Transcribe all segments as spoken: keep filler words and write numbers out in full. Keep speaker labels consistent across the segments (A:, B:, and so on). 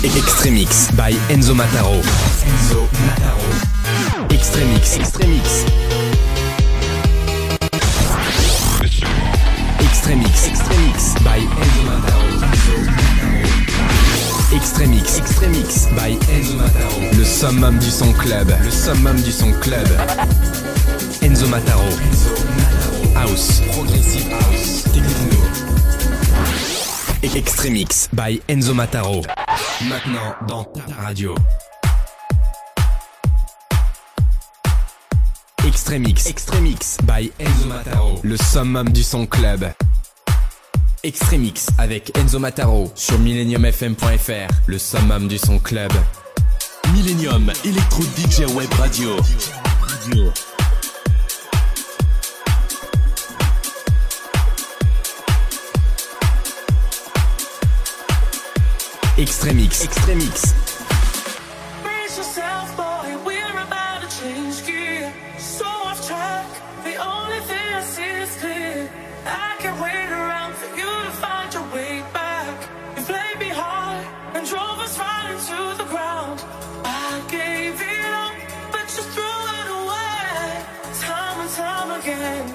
A: Extremix by Enzo Mataro. Enzo Mataro. Extremix. Extremix. Extremix. Extremix by Enzo Mataro. Extremix. Extremix by Enzo Mataro. Le summum du son club. Le summum du son club. Enzo Mataro. Enzo Mataro. House. Progressive house. Techno. Extremix by Enzo Mataro. Maintenant dans ta radio. Extremix. Extremix by Enzo Mataro. Le summum du son club. Extremix avec Enzo Mataro sur millennium f m point f r. Le summum du son club.
B: Millennium Electro D J Web Radio. Radio.
A: Extremix. Extremix.
C: Brace yourself, boy, we're about to change gear. So off track, the only thing I see is clear. I can't wait around for you to find your way back. You played me hard and drove us right into the ground. I gave it up, but you threw it away. Time and time again.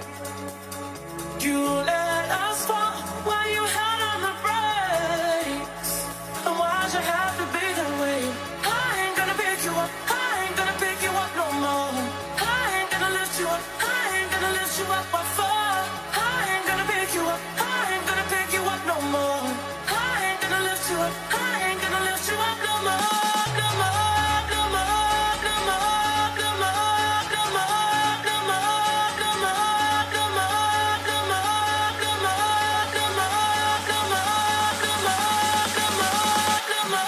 C: You let us fall while you had on the brakes. And why'd you have to be that way? I ain't gonna pick you up, I ain't gonna pick you up no more. I ain't gonna lift you up, I ain't gonna lift you up, what for? I ain't gonna pick you up, I ain't gonna pick you up no more. I ain't gonna lift you up, I ain't gonna lift you up no more. No more, no more, no more, no more, no more, no more, no more, no more, no more, no more, no more, no more, no more, no more.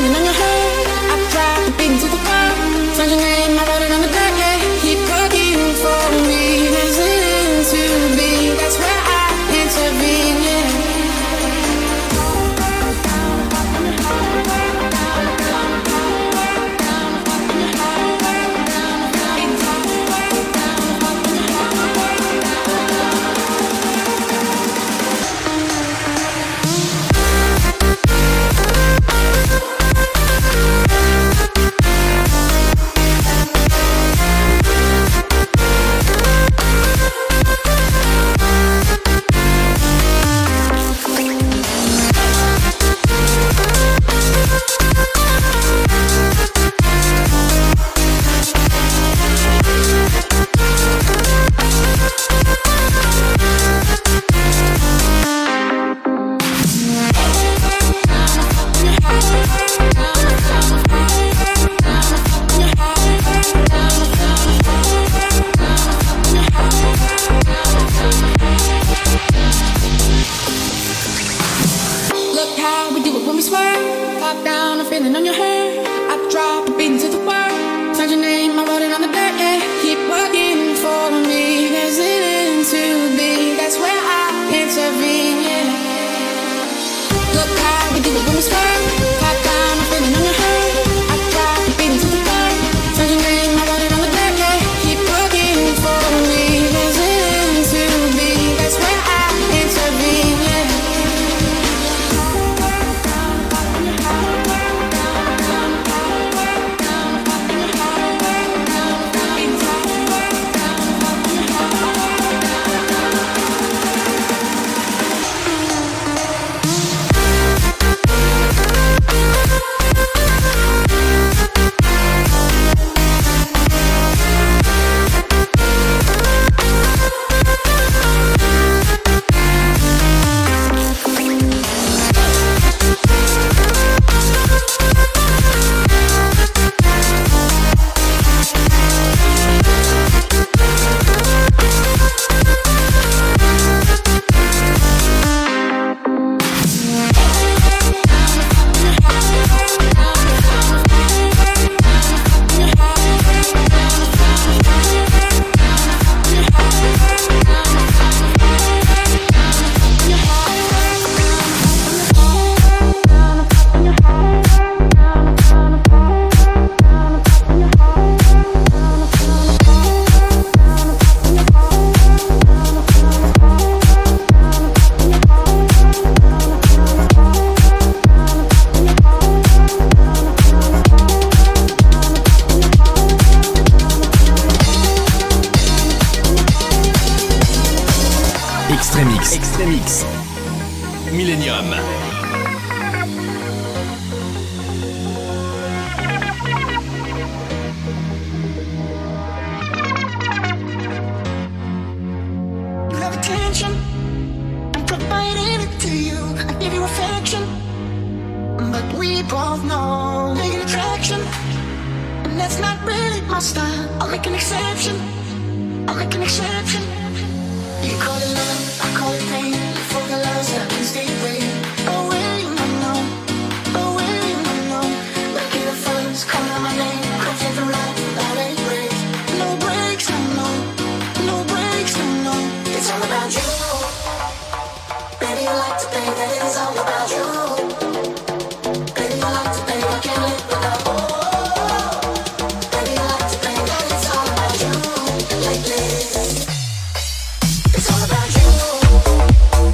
D: feeling on your heart. I tried to beat into the ground. Found your name, I wrote it on the dirt, yeah. Keep looking for me. There's nothing to be. That's where I intervene, yeah.
B: Extremix. Extremix. Millennium.
E: You have attention, I'm providing it to you. I give you affection, but we both know making attraction, and that's not really my style. I'll make an exception, I'll make an exception. You call it love, I call it pain. For the loves that can stay away, away, no, no, away, no, no. Look at the funds, calling out my name. Come take the ride, that ain't break. No breaks, no, no, no breaks, no, no. It's all about you. Baby, I like to think that it's all about you. Baby, I like to think I can't live without you. Baby, I like to think that it's all about you lately. It's all about you.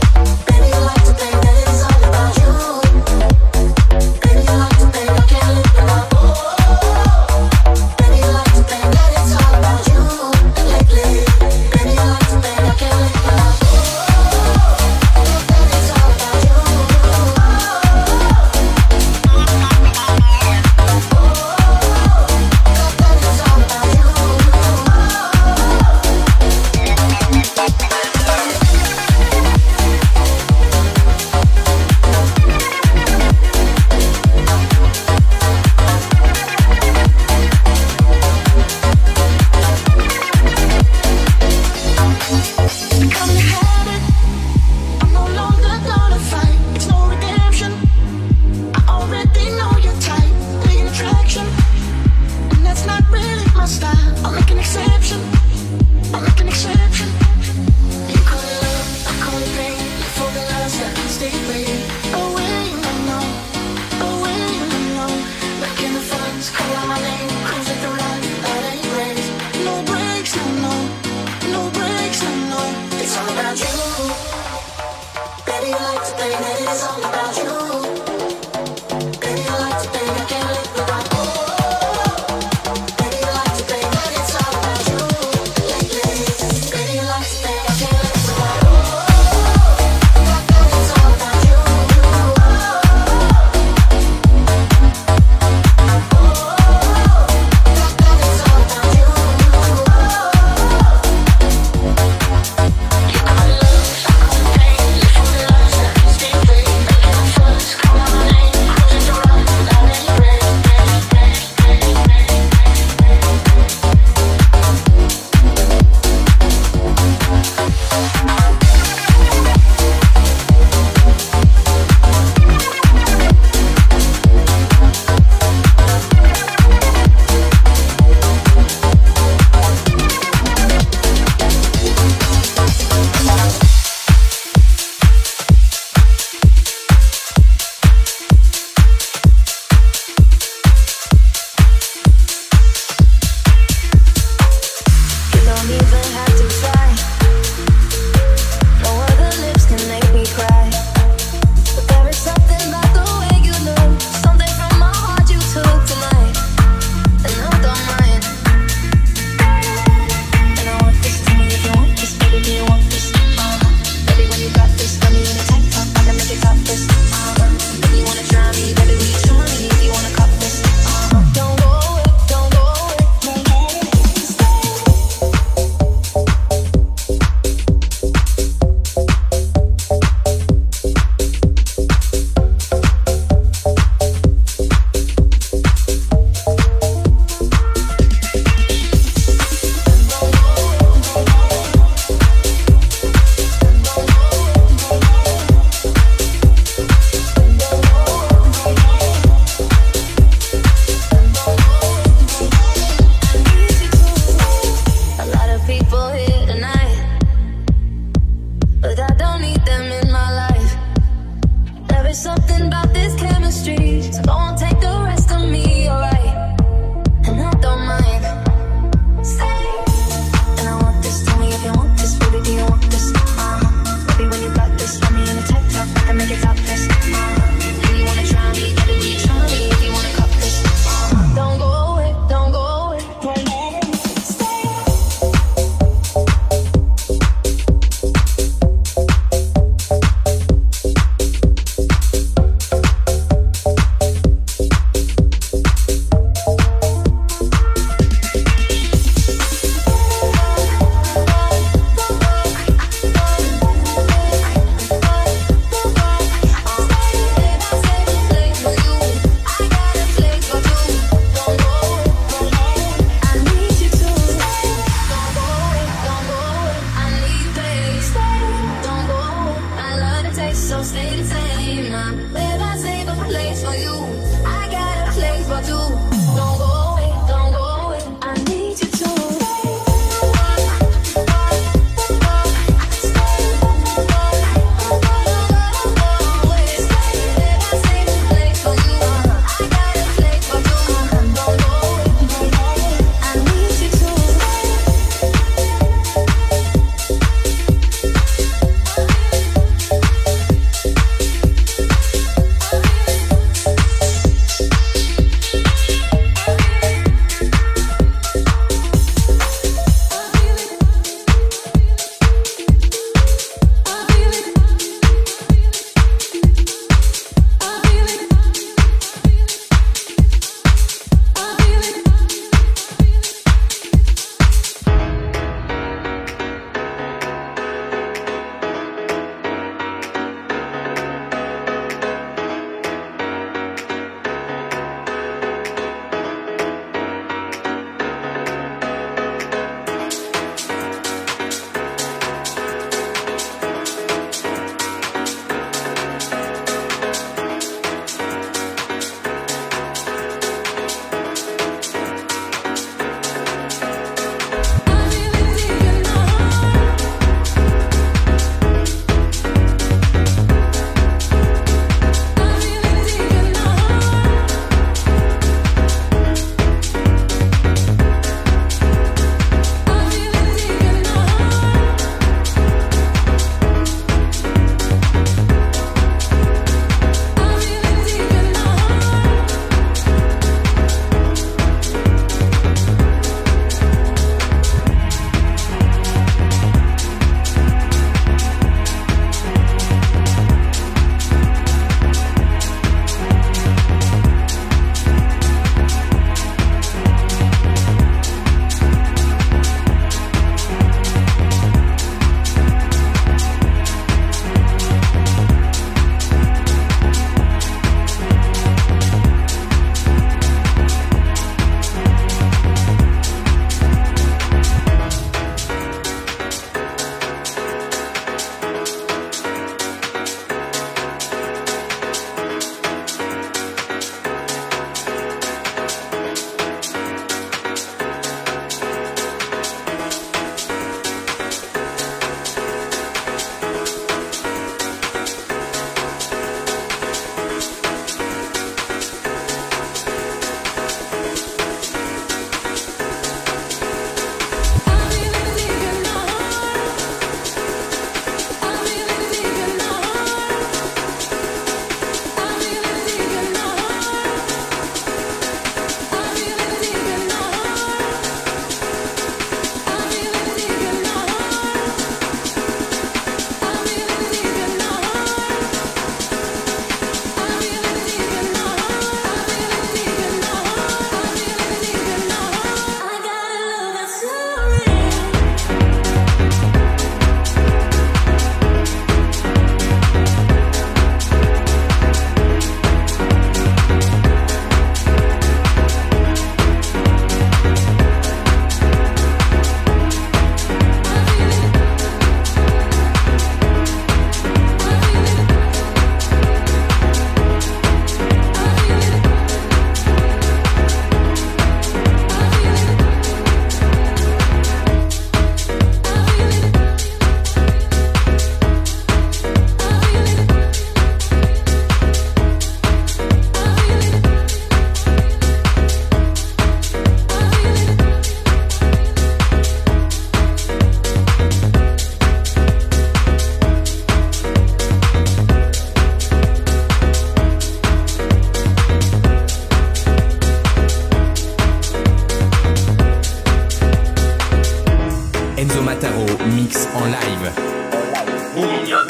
A: Enzo Mataro mix en live.
B: Millennium.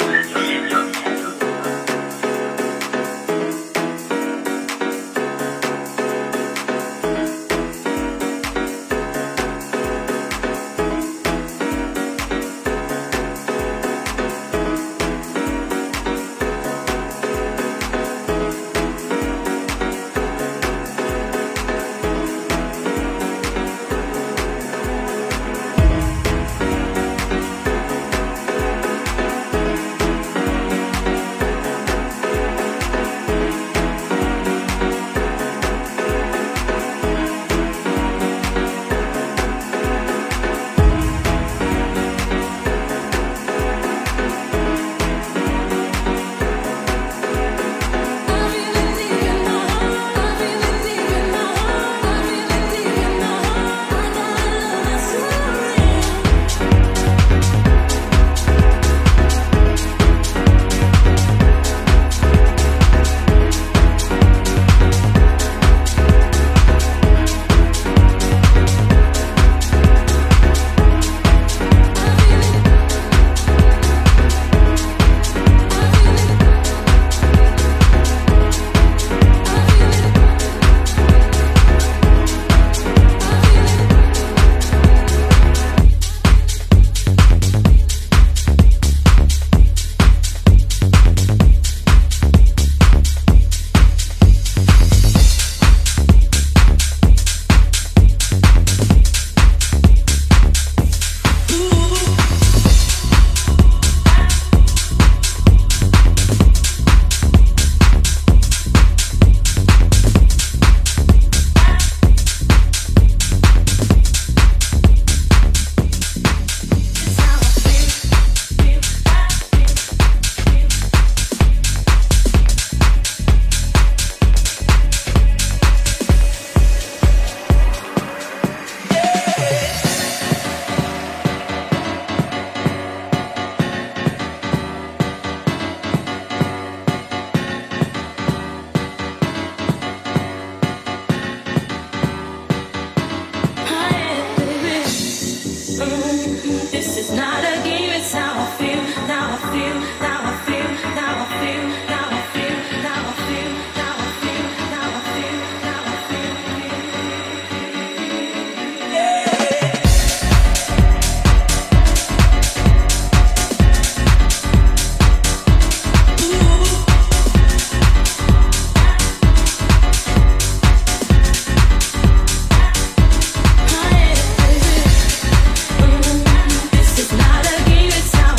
C: This is not a game, it's how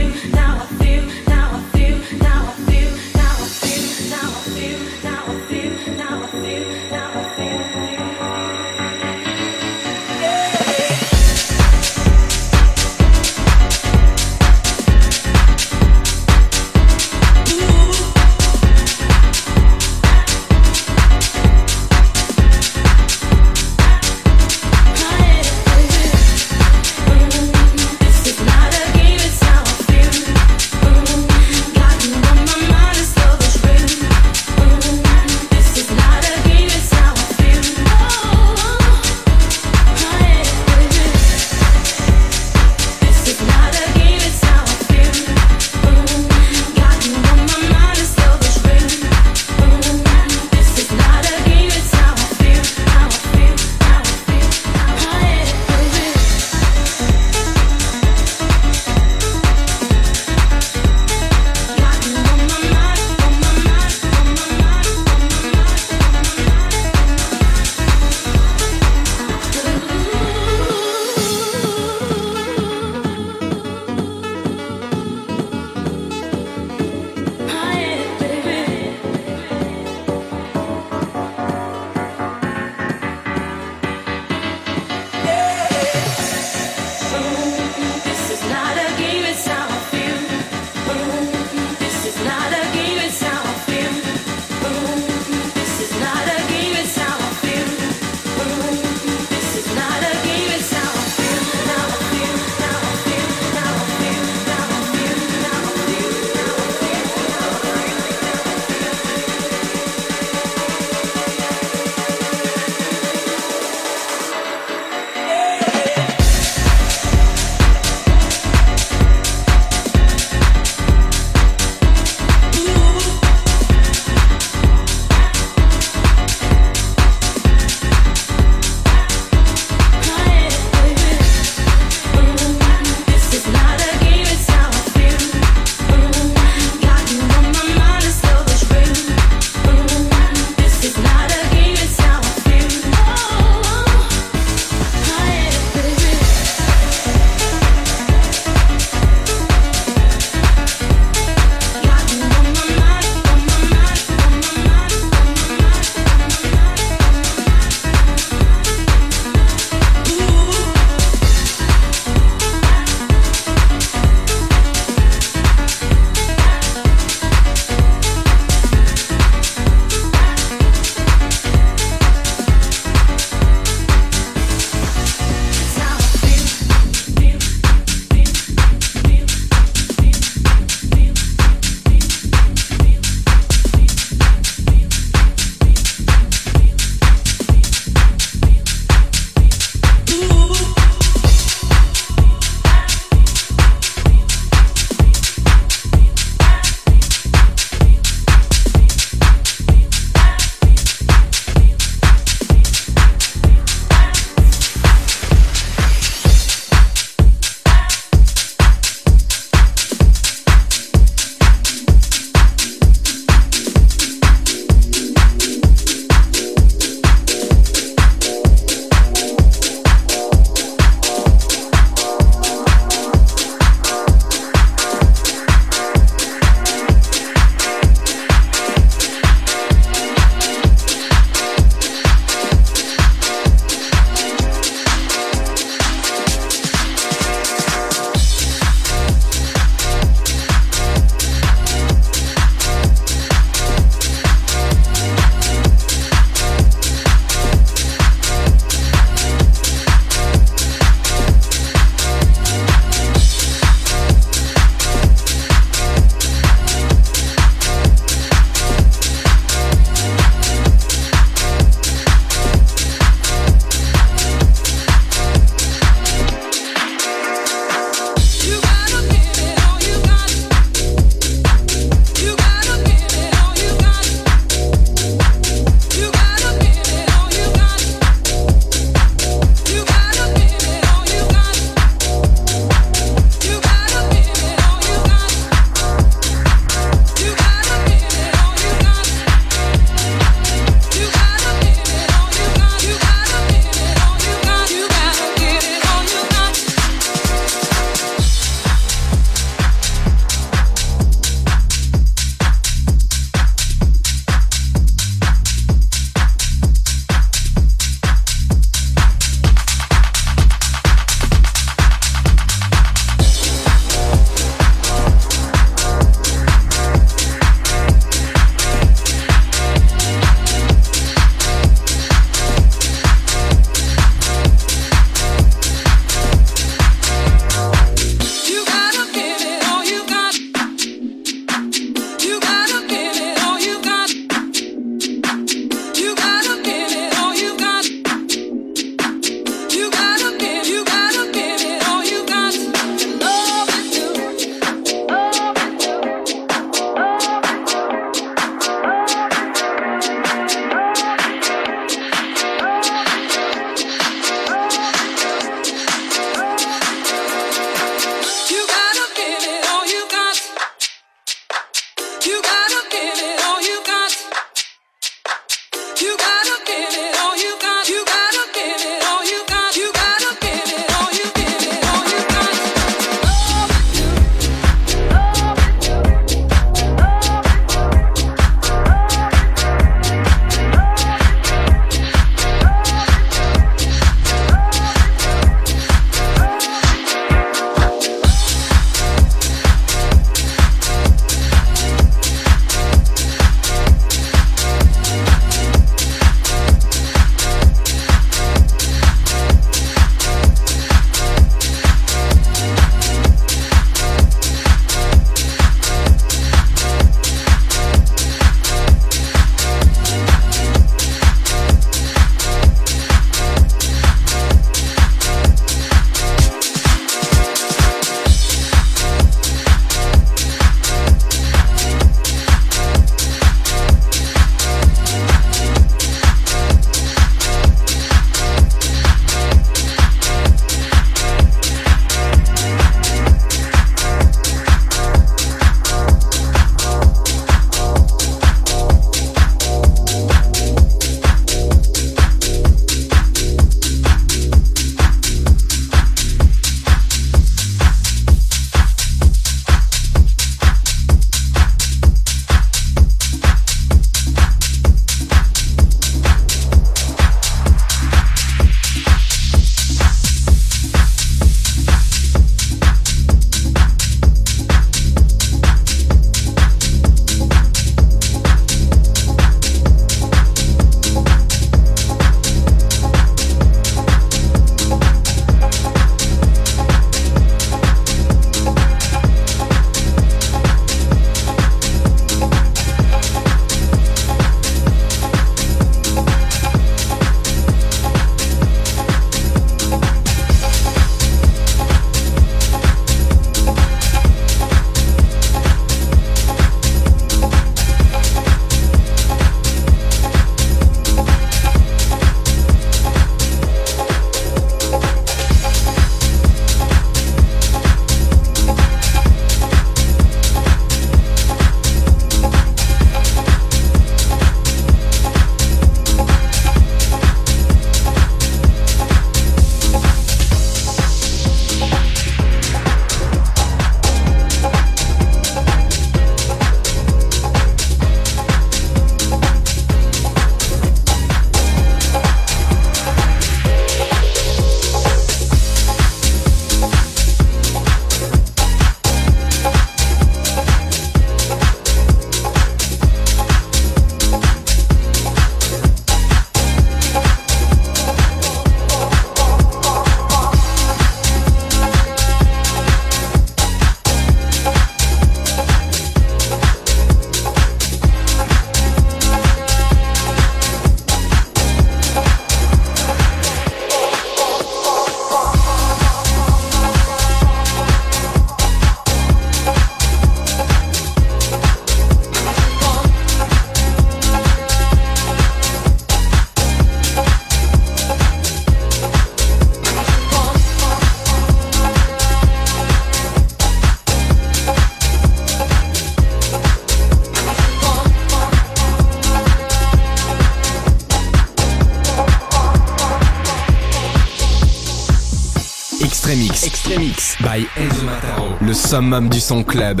A: Extremix. Extremix. By Enzo Mataro. Le summum du son club.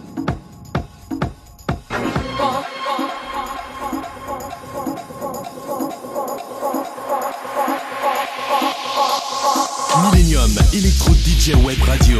B: Millennium Electro D J Web Radio.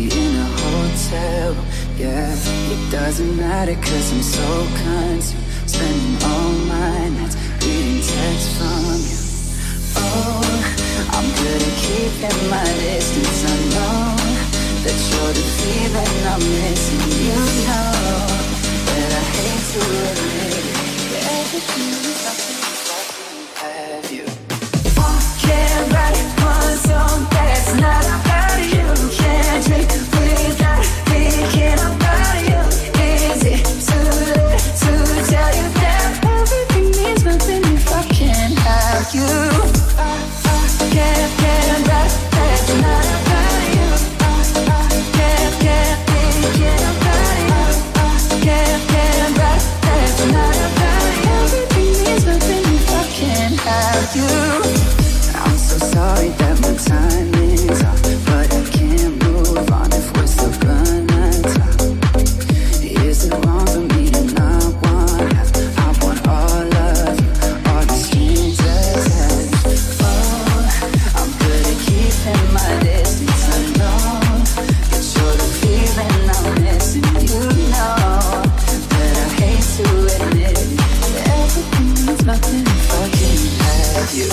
F: in a hotel. Yeah, it doesn't matter cause I'm so kind to spending all my nights reading texts from you. Oh, I'm good at keeping my distance. I know that you're the feeling I'm missing. You know that I hate to admit it. Everything is nothing if I couldn't have you. Can't write one song that's not about you. Can't drink without thinking about you. Is it too late to tell you that everything means nothing if I can't have you? I, I can't, can't write that's not about you. I, I can't, can't thinking about you. I can't, can't write that's not about you. Everything means nothing if I can't have you. I'm so sorry that my time is off, but I can't move on if we're still gonna talk. Is it wrong for me to not want half? I want all of you, all the strings attached. Oh, I'm good at keeping my distance. I know that you're the feeling I'm missing. You know that I hate to admit it. Everything means nothing if I can't have you.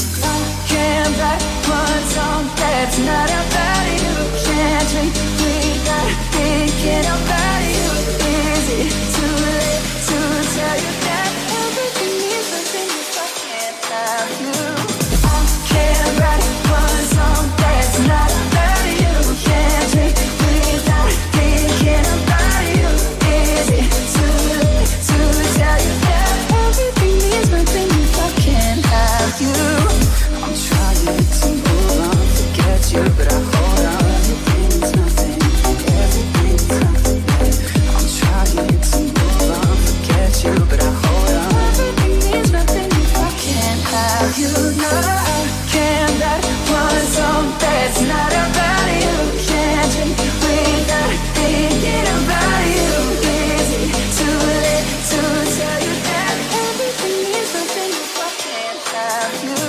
F: Can't write one song that's not about you. Can't drink without thinking about you. Is it too late to tell you that everything means nothing if I can't have you? I can't write one song that's not about you. Can't drink without thinking about you. Is it too late to tell you that everything means nothing if I can't have you? I'm trying to move on, forget you, but I hold on. Everything's nothing, everything's nothing. I'm trying to move on, forget you, but I hold on. Everything means nothing if I can't have you. No, I can't write one song that's not about you. Can't drink without thinking about you. Is it too late to tell you that everything means nothing if I can't have you?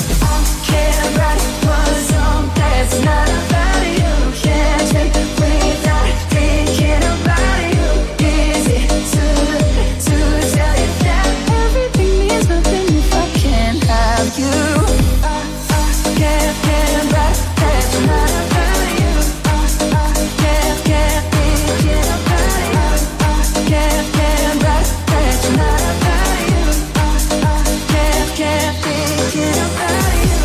F: Can't write one song that's not about you. Can't drink without thinking about you. Is it too late to tell you that everything means nothing if I can't have you? I, I can't, can't write that's not about you. I, I can't, can't thinking about you. I can't, can't write that's not about you. I, I can't, can't thinking about you.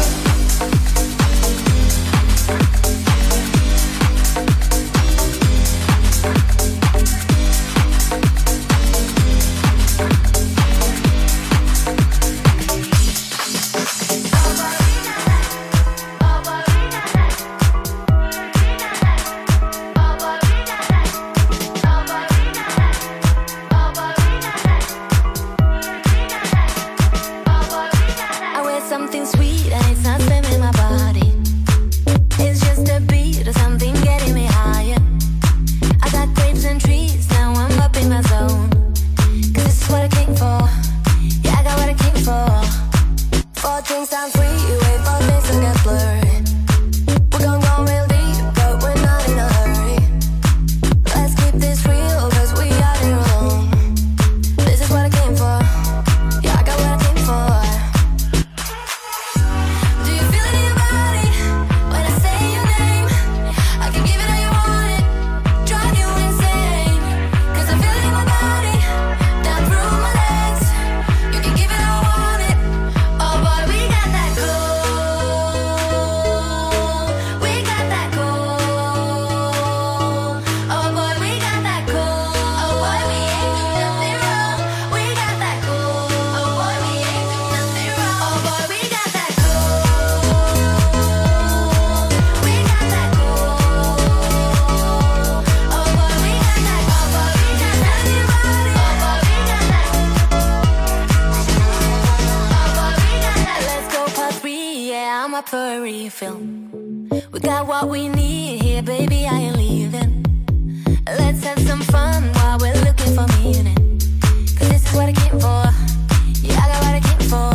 G: I wear something sweet and it's not spamming my body. It's just a beat or something getting me higher. I got grapes and trees, now I'm up in my zone. Cause this is what I came for. Yeah, I got what I came for. Four drinks, I'm free, wait for things to get blurry. We're gon' go real deep, but we're not in a hurry. Let's keep this real, cause we are here alone. This is what I came for. Yeah, I got what I came for. Do you feel it in your body when I say your name? I can give it how you want it, drive you insane. Cause I feel it in my body, down through my legs. You can give it how I want it. Oh boy, we got that cold. We got that cold. Oh boy, we got that cold. Oh boy, we ain't do nothing wrong. We got that cold. Oh boy, we ain't do nothing wrong. Oh boy, we got that cold. We got that cold. Oh boy, we got that. Oh boy, we got that. Oh boy, we got that. Let's go part three, yeah, I'm up for a refill. We got what we need here, baby, I ain't leaving. Let's have some fun while we're looking for meaning. Cause this is what I came for. Yeah, I got what I came for.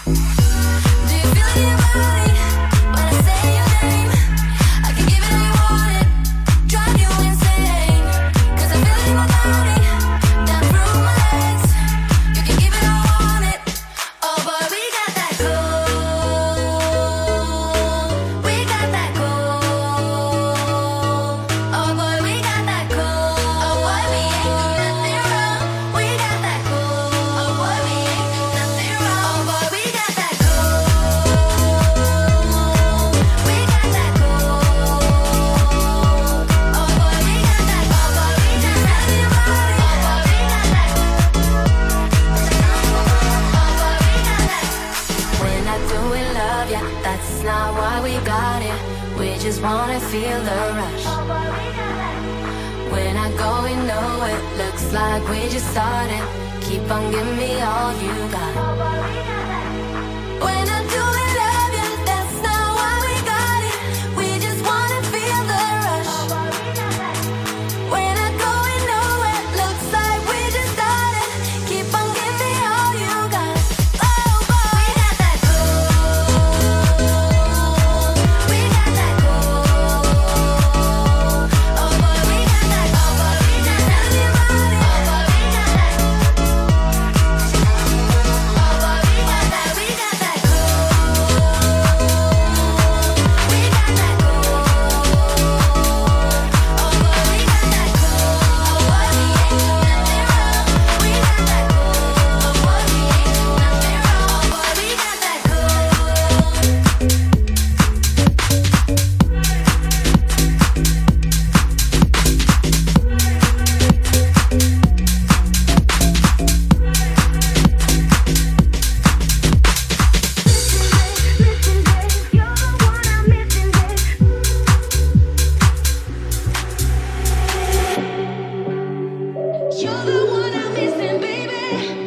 G: Do you feel it in your body when I say your name? I can give it how you want feel the rush. When I go, we know it looks like we just started. Keep on giving me all you got. When I do it, love you, that's not why we got it. We just wanna feel the rush. When I go, we know it looks like we just started. Keep on giving me all you got. Oh boy, we got that gold. We got that gold. Oh boy, we got that gold. Oh boy, we got that. Tell me about it. Oh boy, we got that. Oh boy, we got that. We got that gold. We got that gold. Oh boy, we got that gold. Oh boy, we ain't do nothing wrong. We got that gold. Oh boy, we ain't do nothing wrong. Oh boy, we got that You're the one I'm missing, baby.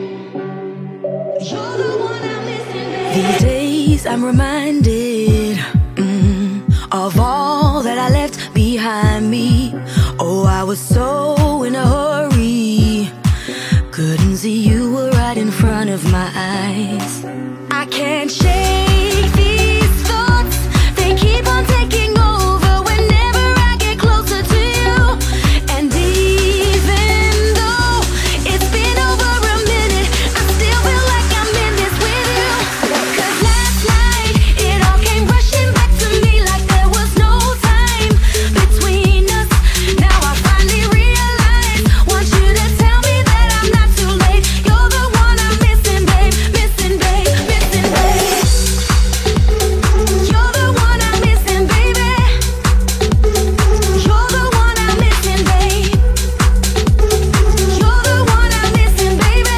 G: You're the one I'm missing, baby.
H: These days I'm reminded mm, of all that I left behind me. Oh, I was so in a hurry, couldn't see you were right in front of my eyes. I can't shake these thoughts, they keep on taking over whenever I get closer to you. And even though it's been over a minute, I still feel like I'm in this with you. 'Cause last night it all came rushing back to me like there was no time between us. Now I finally realize, want you to tell me that I'm not too late. You're the one I'm missing, babe, missing, babe, missing, babe. You're the one I'm missing, baby. You're the one I'm missing, babe. You're the one I'm missing, baby.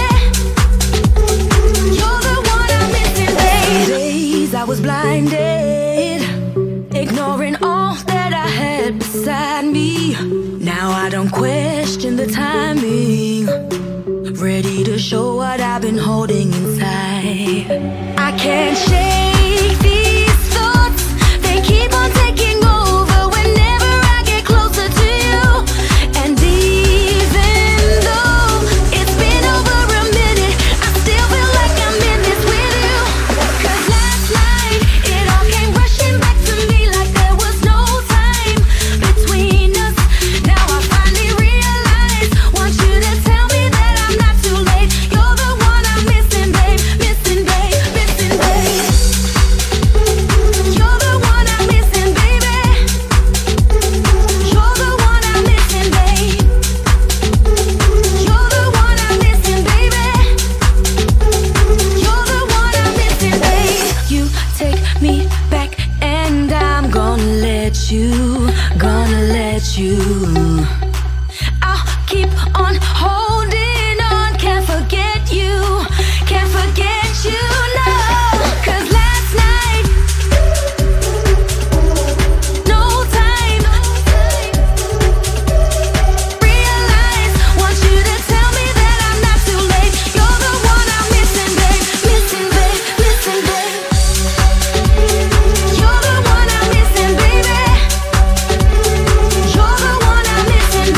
H: You're the one I'm missing, babe. Days I was blinded, ignoring all that I had beside me. Now I don't question the timing, ready to show what I've been holding inside. I can't shake these thoughts, they keep on taking over whenever I get closer to you. And even though it's been over a minute, I still feel like I'm in this with you. 'Cause last night it all came rushing back to me like there was no time between us. Now I finally realize, want you to tell me that I'm not too late. You're the one I'm missing, babe, missing, babe, missing, babe. You're the one I'm missing, baby. You're the one I'm missing, babe. You're the one I'm missing, baby. You're the one I'm missing, babe. You take me back and I'm gonna let you, gonna let you. I'll keep on holding on, can't forget you, can't forget you, no. 'Cause last night, no time, realize, want you to tell me that I'm not too late. You're the one I'm missing, babe, missing, babe, missing, babe. You're the one I'm missing, baby. You're the one I'm missing,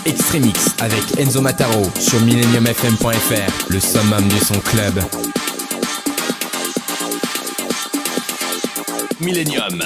A: Extremix avec Enzo Mataro sur millennium f m point f r, le summum du son club.
B: Millennium.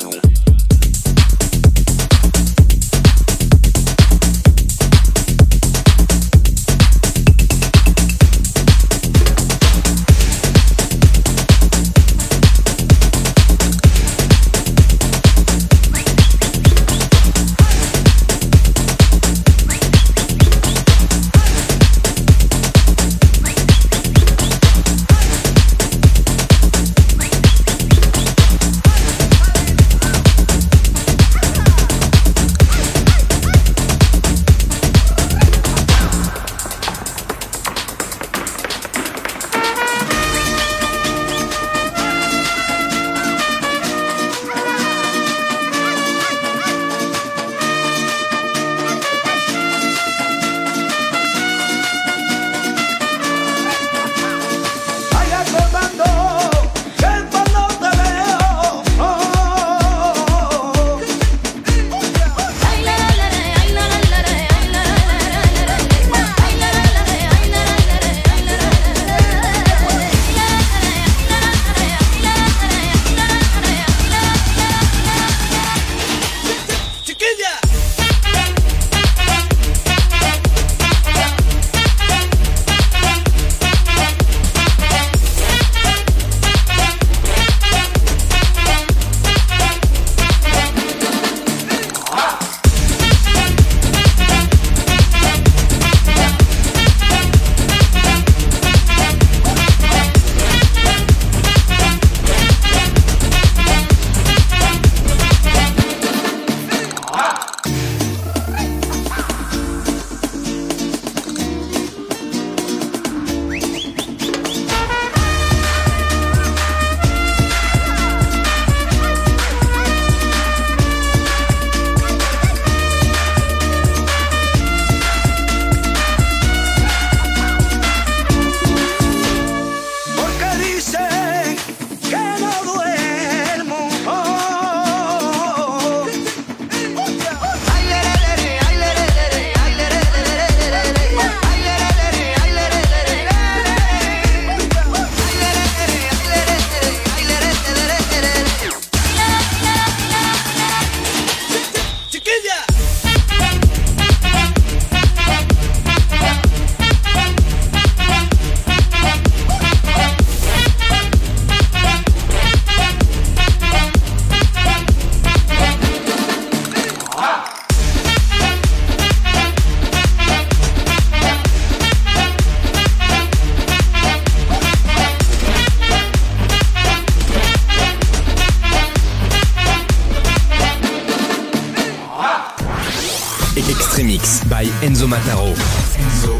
A: Extremix by Enzo Mataro. Enzo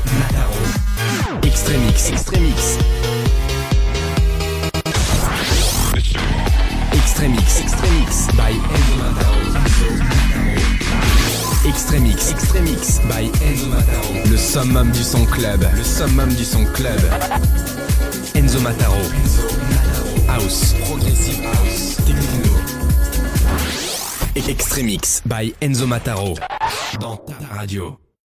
A: Mataro. Extremix. Extremix. Extremix. Extremix by Enzo Mataro. Extremix. Extremix by Enzo Mataro. Le summum du son club. Le summum du son club. Enzo Mataro. Enzo Mataro. House. Progressive house. Techno. Extremix by Enzo Mataro. Dans ta radio.